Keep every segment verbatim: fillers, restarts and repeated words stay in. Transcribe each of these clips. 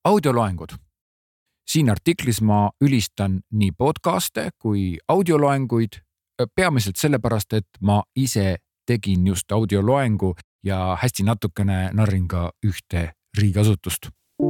Audioloengud. Siin artiklis ma ülistan nii podcaste kui audioloenguid, peamiselt sellepärast, et ma ise tegin just audioloengu ja hästi natukene narrin ka ühte riigiasutust.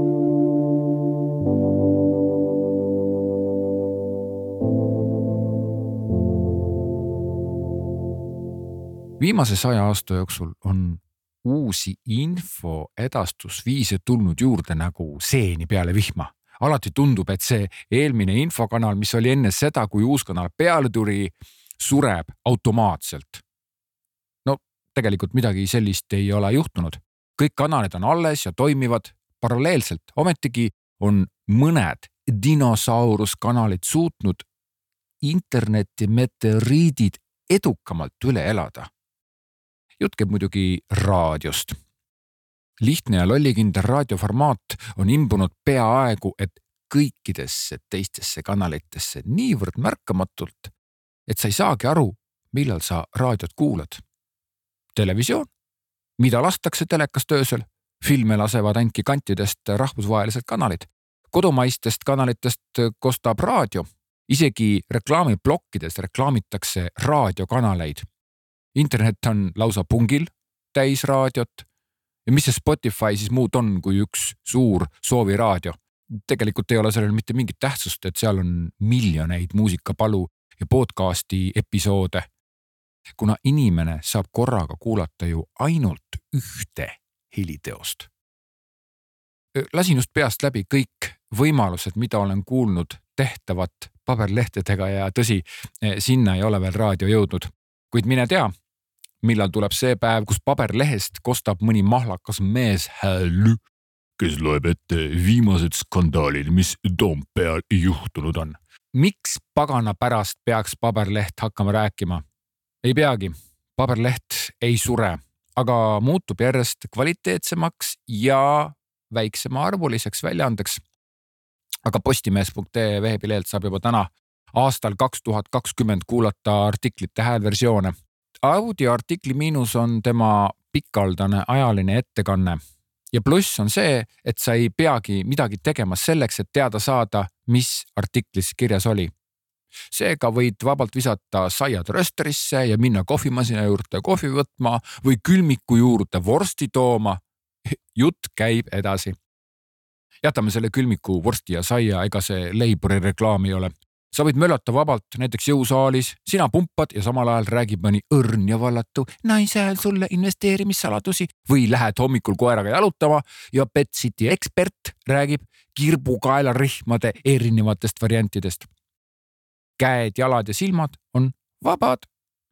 Viimase saja aasta jooksul on uusi info edastusviise tulnud juurde nagu seeni peale vihma. Alati tundub, et see eelmine infokanal, mis oli enne seda, kui uus kanal peale tuli, sureb automaatselt. No tegelikult midagi sellist ei ole juhtunud. Kõik kanalid on alles ja toimivad paralleelselt. Ometigi on mõned dinosauruskanalid suutnud interneti meteoriidid edukamalt üle elada. Jutt käib muidugi raadiost. Lihtne ja lollikindel raadioformaat on imbunud peaaegu, et kõikidesse teistesse kanalitesse niivõrd märkamatult, et sa ei saagi aru, millal sa raadiot kuulad. Televisioon, mida lastakse telekas töösel, filme lasevad ainki kantidest rahvusvahelised kanalid. Kodumaistest kanalitest kostab raadio. Isegi reklaamiblokkides reklaamitakse raadiokanaleid. Internet on lausa pungil täis raadiot. Ja mis see Spotify siis muud on kui üks suur sooviraadio? Tegelikult ei ole sellel mitte mingit tähtsust, et seal on miljoneid muusikapalu ja podcasti episoode. Kuna inimene saab korraga kuulata ju ainult ühte heliteost. Lasin just peast läbi kõik võimalused, mida olen kuulnud tehtavat paberlehtedega ja tõsi, sinna ei ole veel raadio jõudnud. Kuid mine tea, millal tuleb see päev, kus paberlehest kostab mõni mahlakas mees hääl, kes loeb ette viimased skandaalid, mis Toompeal juhtunud on. Miks pagana pärast peaks paberleht hakkama rääkima? Ei peagi, paberleht ei sure, aga muutub järjest kvaliteetsemaks ja väiksema arvuliseks väljaandeks. Aga postimees punkt ee veebileelt saab juba täna aastal kaks tuhat kakskümmend kuulata artiklite häälversioone. Audioartikli miinus on tema pikaldane ajaline ettekanne ja pluss on see, et sa ei peagi midagi tegema selleks, et teada saada, mis artiklis kirjas oli. Seega võid vabalt visata saiad rösterisse ja minna kohvimasina juurde kohvi võtma või külmiku juurde vorsti tooma. Jutt käib edasi. Jätame selle külmiku vorsti ja saia, ega see Leiburi reklaam ei ole. Sa võid möllata vabalt näiteks jõusaalis, sina pumpad ja samal ajal räägib mõni õrn ja vallatu naise hääl sulle investeerimissaladusi või lähed hommikul koeraga jalutama ja Pet City ekspert räägib kirbukaelarihmade erinevatest variantidest. Käed, jalad ja silmad on vabad.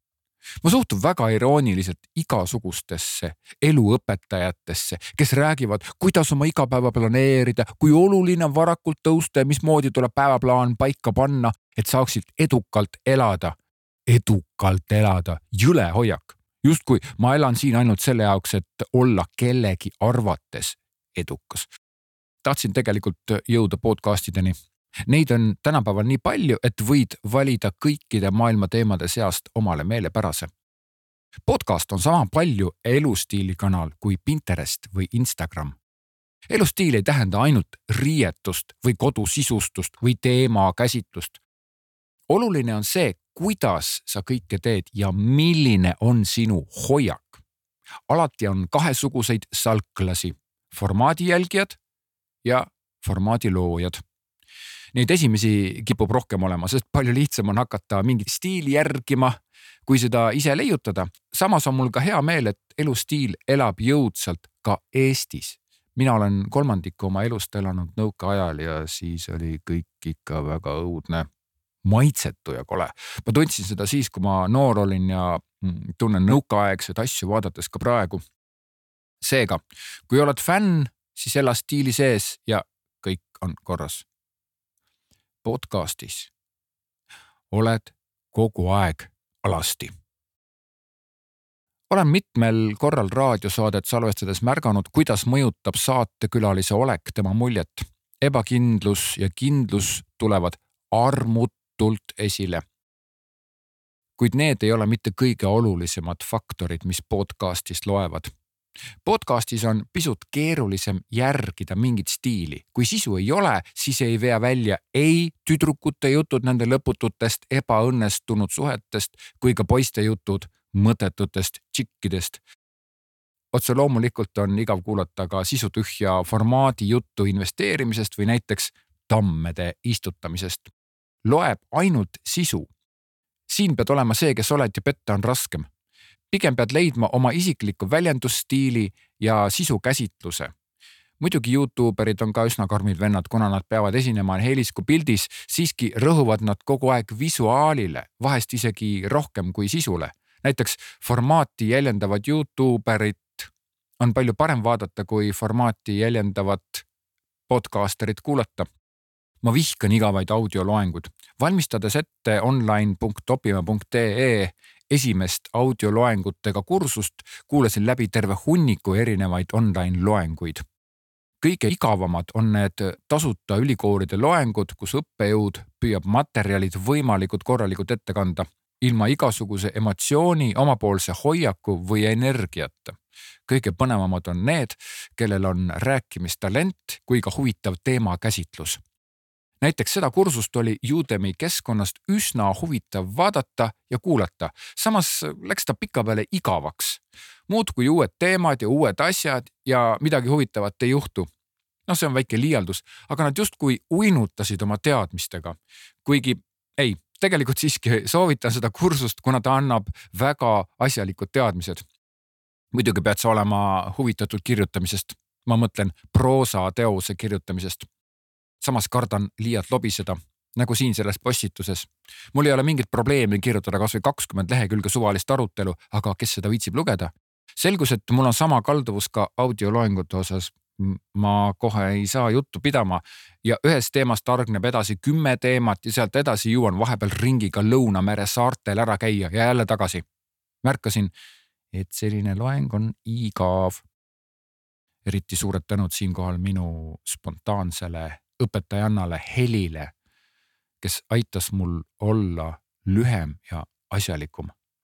Ma suhtun väga irooniliselt igasugustesse eluõpetajatesse, kes räägivad, kuidas oma igapäeva planeerida, kui oluline on varakult tõusta ja mismoodi tuleb päevaplaan paika panna, et saaksid edukalt elada. Edukalt elada, jüle hoiak. Just kui ma elan siin ainult selle jaoks, et olla kellegi arvates edukas. Tahtsin tegelikult jõuda podcastideni. Neid on tänapäeval nii palju, et võid valida kõikide maailma teemade seast omale meelepärase. Podcast on sama palju elustiilikanal kui Pinterest või Instagram. Elustiil ei tähenda ainult riietust või kodusisustust või teema käsitlust. Oluline on see, kuidas sa kõike teed ja milline on sinu hoiak. Alati on kahesuguseid salklasi, formaadi jälgijad ja formaadi loojad. Neid esimesi kipub rohkem olema, sest palju lihtsam on hakata mingit stiili järgima, kui seda ise leiutada. Samas on mul ka hea meel, et elustiil elab jõudsalt ka Eestis. Mina olen kolmandiku oma elust elanud nõukaajal ja siis oli kõik ikka väga õudne, maitsetu ja kole. Ma tundsin seda siis, kui ma noor olin ja tunnen nõukaaegseid asju vaadates ka praegu. Seega, kui oled fänn, siis ela stiili sees ja kõik on korras. Podcastis oled kogu aeg alasti. Olen mitmel korral raadiosaadet salvestades märganud, kuidas mõjutab saatekülalise olek tema muljet. Ebakindlus ja kindlus tulevad armutult esile. Kuid need ei ole mitte kõige olulisemad faktorid, mis podcastist loevad. Podcastis on pisut keerulisem järgida mingit stiili. Kui sisu ei ole, siis ei vea välja ei tüdrukute jutud nende lõpututest ebaõnnestunud suhetest kui ka poiste jutud mõttetutest tšikkidest. Otse loomulikult on igav kuulata ka sisutühja formaadi juttu investeerimisest või näiteks tammede istutamisest. Loeb ainult sisu. Siin pead olema see, kes oled ja petta on raskem. Pigem pead leidma oma isikliku väljendusstiili ja sisu käsitluse. Muidugi YouTuberid on ka üsna karmid vennad, kuna nad peavad esinema helisku pildis, siiski rõhuvad nad kogu aeg visuaalile, vahest isegi rohkem kui sisule. Näiteks formaati jäljendavad YouTuberid on palju parem vaadata kui formaati jäljendavat podcasterit kuulata. Ma vihkan igavaid audioloengud. Valmistades ette online punkt opime punkt ee esimest audioloengutega kursust, kuulasin läbi terve hunniku erinevaid online loenguid. Kõige igavamad on need tasuta ülikoolide loengud, kus õppejõud püüab materjalid võimalikud korralikult ette kanda, ilma igasuguse emotsiooni, omapoolse hoiaku või energiata. Kõige põnevamad on need, kellel on rääkimistalent kui ka huvitav teema käsitlus. Näiteks seda kursust oli Udemy keskkonnast üsna huvitav vaadata ja kuulata. Samas läks ta pika peale igavaks. Muud kui uued teemad ja uued asjad ja midagi huvitavat ei juhtu. No see on väike liialdus, aga nad justkui uinutasid oma teadmistega. Kuigi ei, tegelikult siiski soovitan seda kursust, kuna ta annab väga asjalikud teadmised. Muidugi pead sa olema huvitatud kirjutamisest. Ma mõtlen proosa teose kirjutamisest. Samas kardan liialt lobiseda, nagu siin selles postituses. Mul ei ole mingit probleemi kirjutada kas või kakskümmend lehekülge suvalist arutelu, aga kes seda viitsib lugeda? Selgus, et mul on sama kalduvus ka audioloengute osas. Ma kohe ei saa juttu pidama ja ühest teemast argneb edasi kümme teemat ja sealt edasi jõuan vahepeal ringiga Lõunamere saartel ära käia ja jälle tagasi. Märkasin, et selline loeng on igav. Eriti suured tänud siinkohal minu spontaansele õpetajannale Helile, kes aitas mul olla lühem ja asjalikum.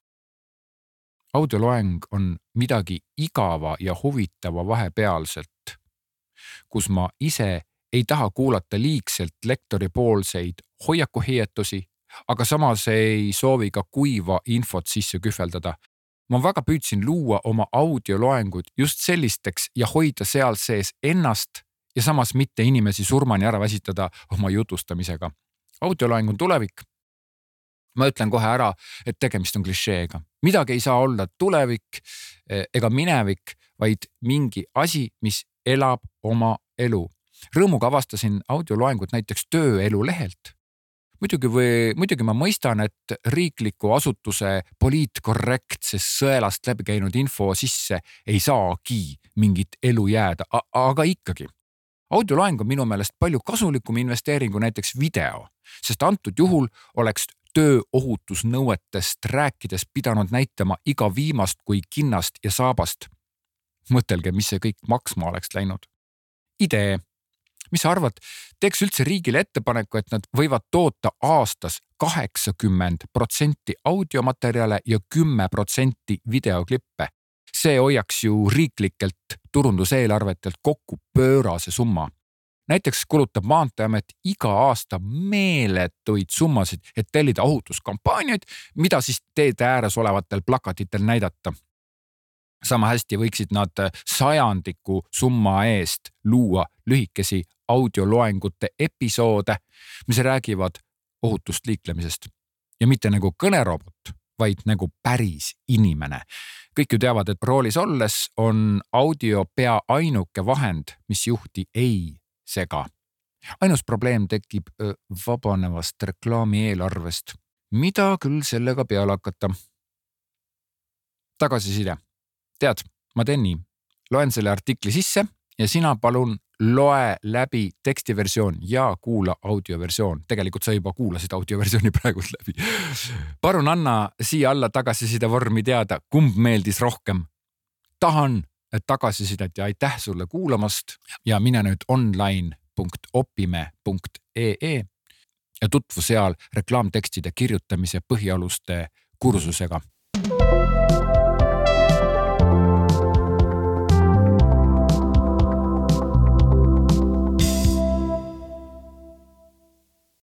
Audioloeng on midagi igava ja huvitava vahepealselt, kus ma ise ei taha kuulata liigselt lektori poolseid hoiakuhietusi, aga samas ei soovi ka kuiva infot sisse kühveldada. Ma väga püüdsin luua oma audioloengud just sellisteks ja hoida seal sees ennast ja samas mitte inimesi surmani ära väsitada oma jutustamisega. Audioloeng on tulevik. Ma ütlen kohe ära, et tegemist on klišeega. Midagi ei saa olla tulevik ega minevik, vaid mingi asi, mis elab oma elu. Rõõmuga avastasin audioloengut näiteks tööelu lehelt. Muidugi, või, muidugi ma mõistan, et riikliku asutuse poliitkorrektses sõelast läbi käinud info sisse ei saagi mingit elu jääda, aga ikkagi. Audioloeng on minu meelest palju kasulikum investeeringu näiteks video, sest antud juhul oleks tööohutusnõuetest rääkides pidanud näitama iga viimast kui kinnast ja saabast. Mõtelge, mis see kõik maksma oleks läinud. Idee. Mis sa arvad, teeks üldse riigile ettepaneku, et nad võivad toota aastas kaheksakümmend protsenti audiomaterjale ja kümme protsenti videoklippe. See hoiaks ju riiklikelt turunduseelarvetelt kokku pöörase summa. Näiteks kulutab Maanteeamet iga aasta meeletuid summasid, et tellida ohutuskampaaniaid, mida siis teede ääres olevatel plakatitel näidata. Sama hästi võiksid nad sajandiku summa eest luua lühikesi audioloengute episoode, mis räägivad ohutust liiklemisest. Ja mitte nagu kõnerobot, vaid nagu päris inimene. Kõik ju teavad, et roolis olles on audio pea ainuke vahend, mis juhti ei sega. Ainus probleem tekib vabanevast reklaami eelarvest. Mida küll sellega peale hakata? Tagasiside. Tead, ma teen nii. Loen selle artikli sisse ja sina palun loe läbi tekstiversioon ja kuula audioversioon. Tegelikult sa juba kuulasid audioversiooni praegult läbi. Palun anna siia alla tagasiside vormi teada, kumb meeldis rohkem. Tahan tagasisidet ja aitäh sulle kuulamast ja mine nüüd online punkt opime punkt ee ja tutvu seal reklaamtekstide kirjutamise põhialuste kursusega.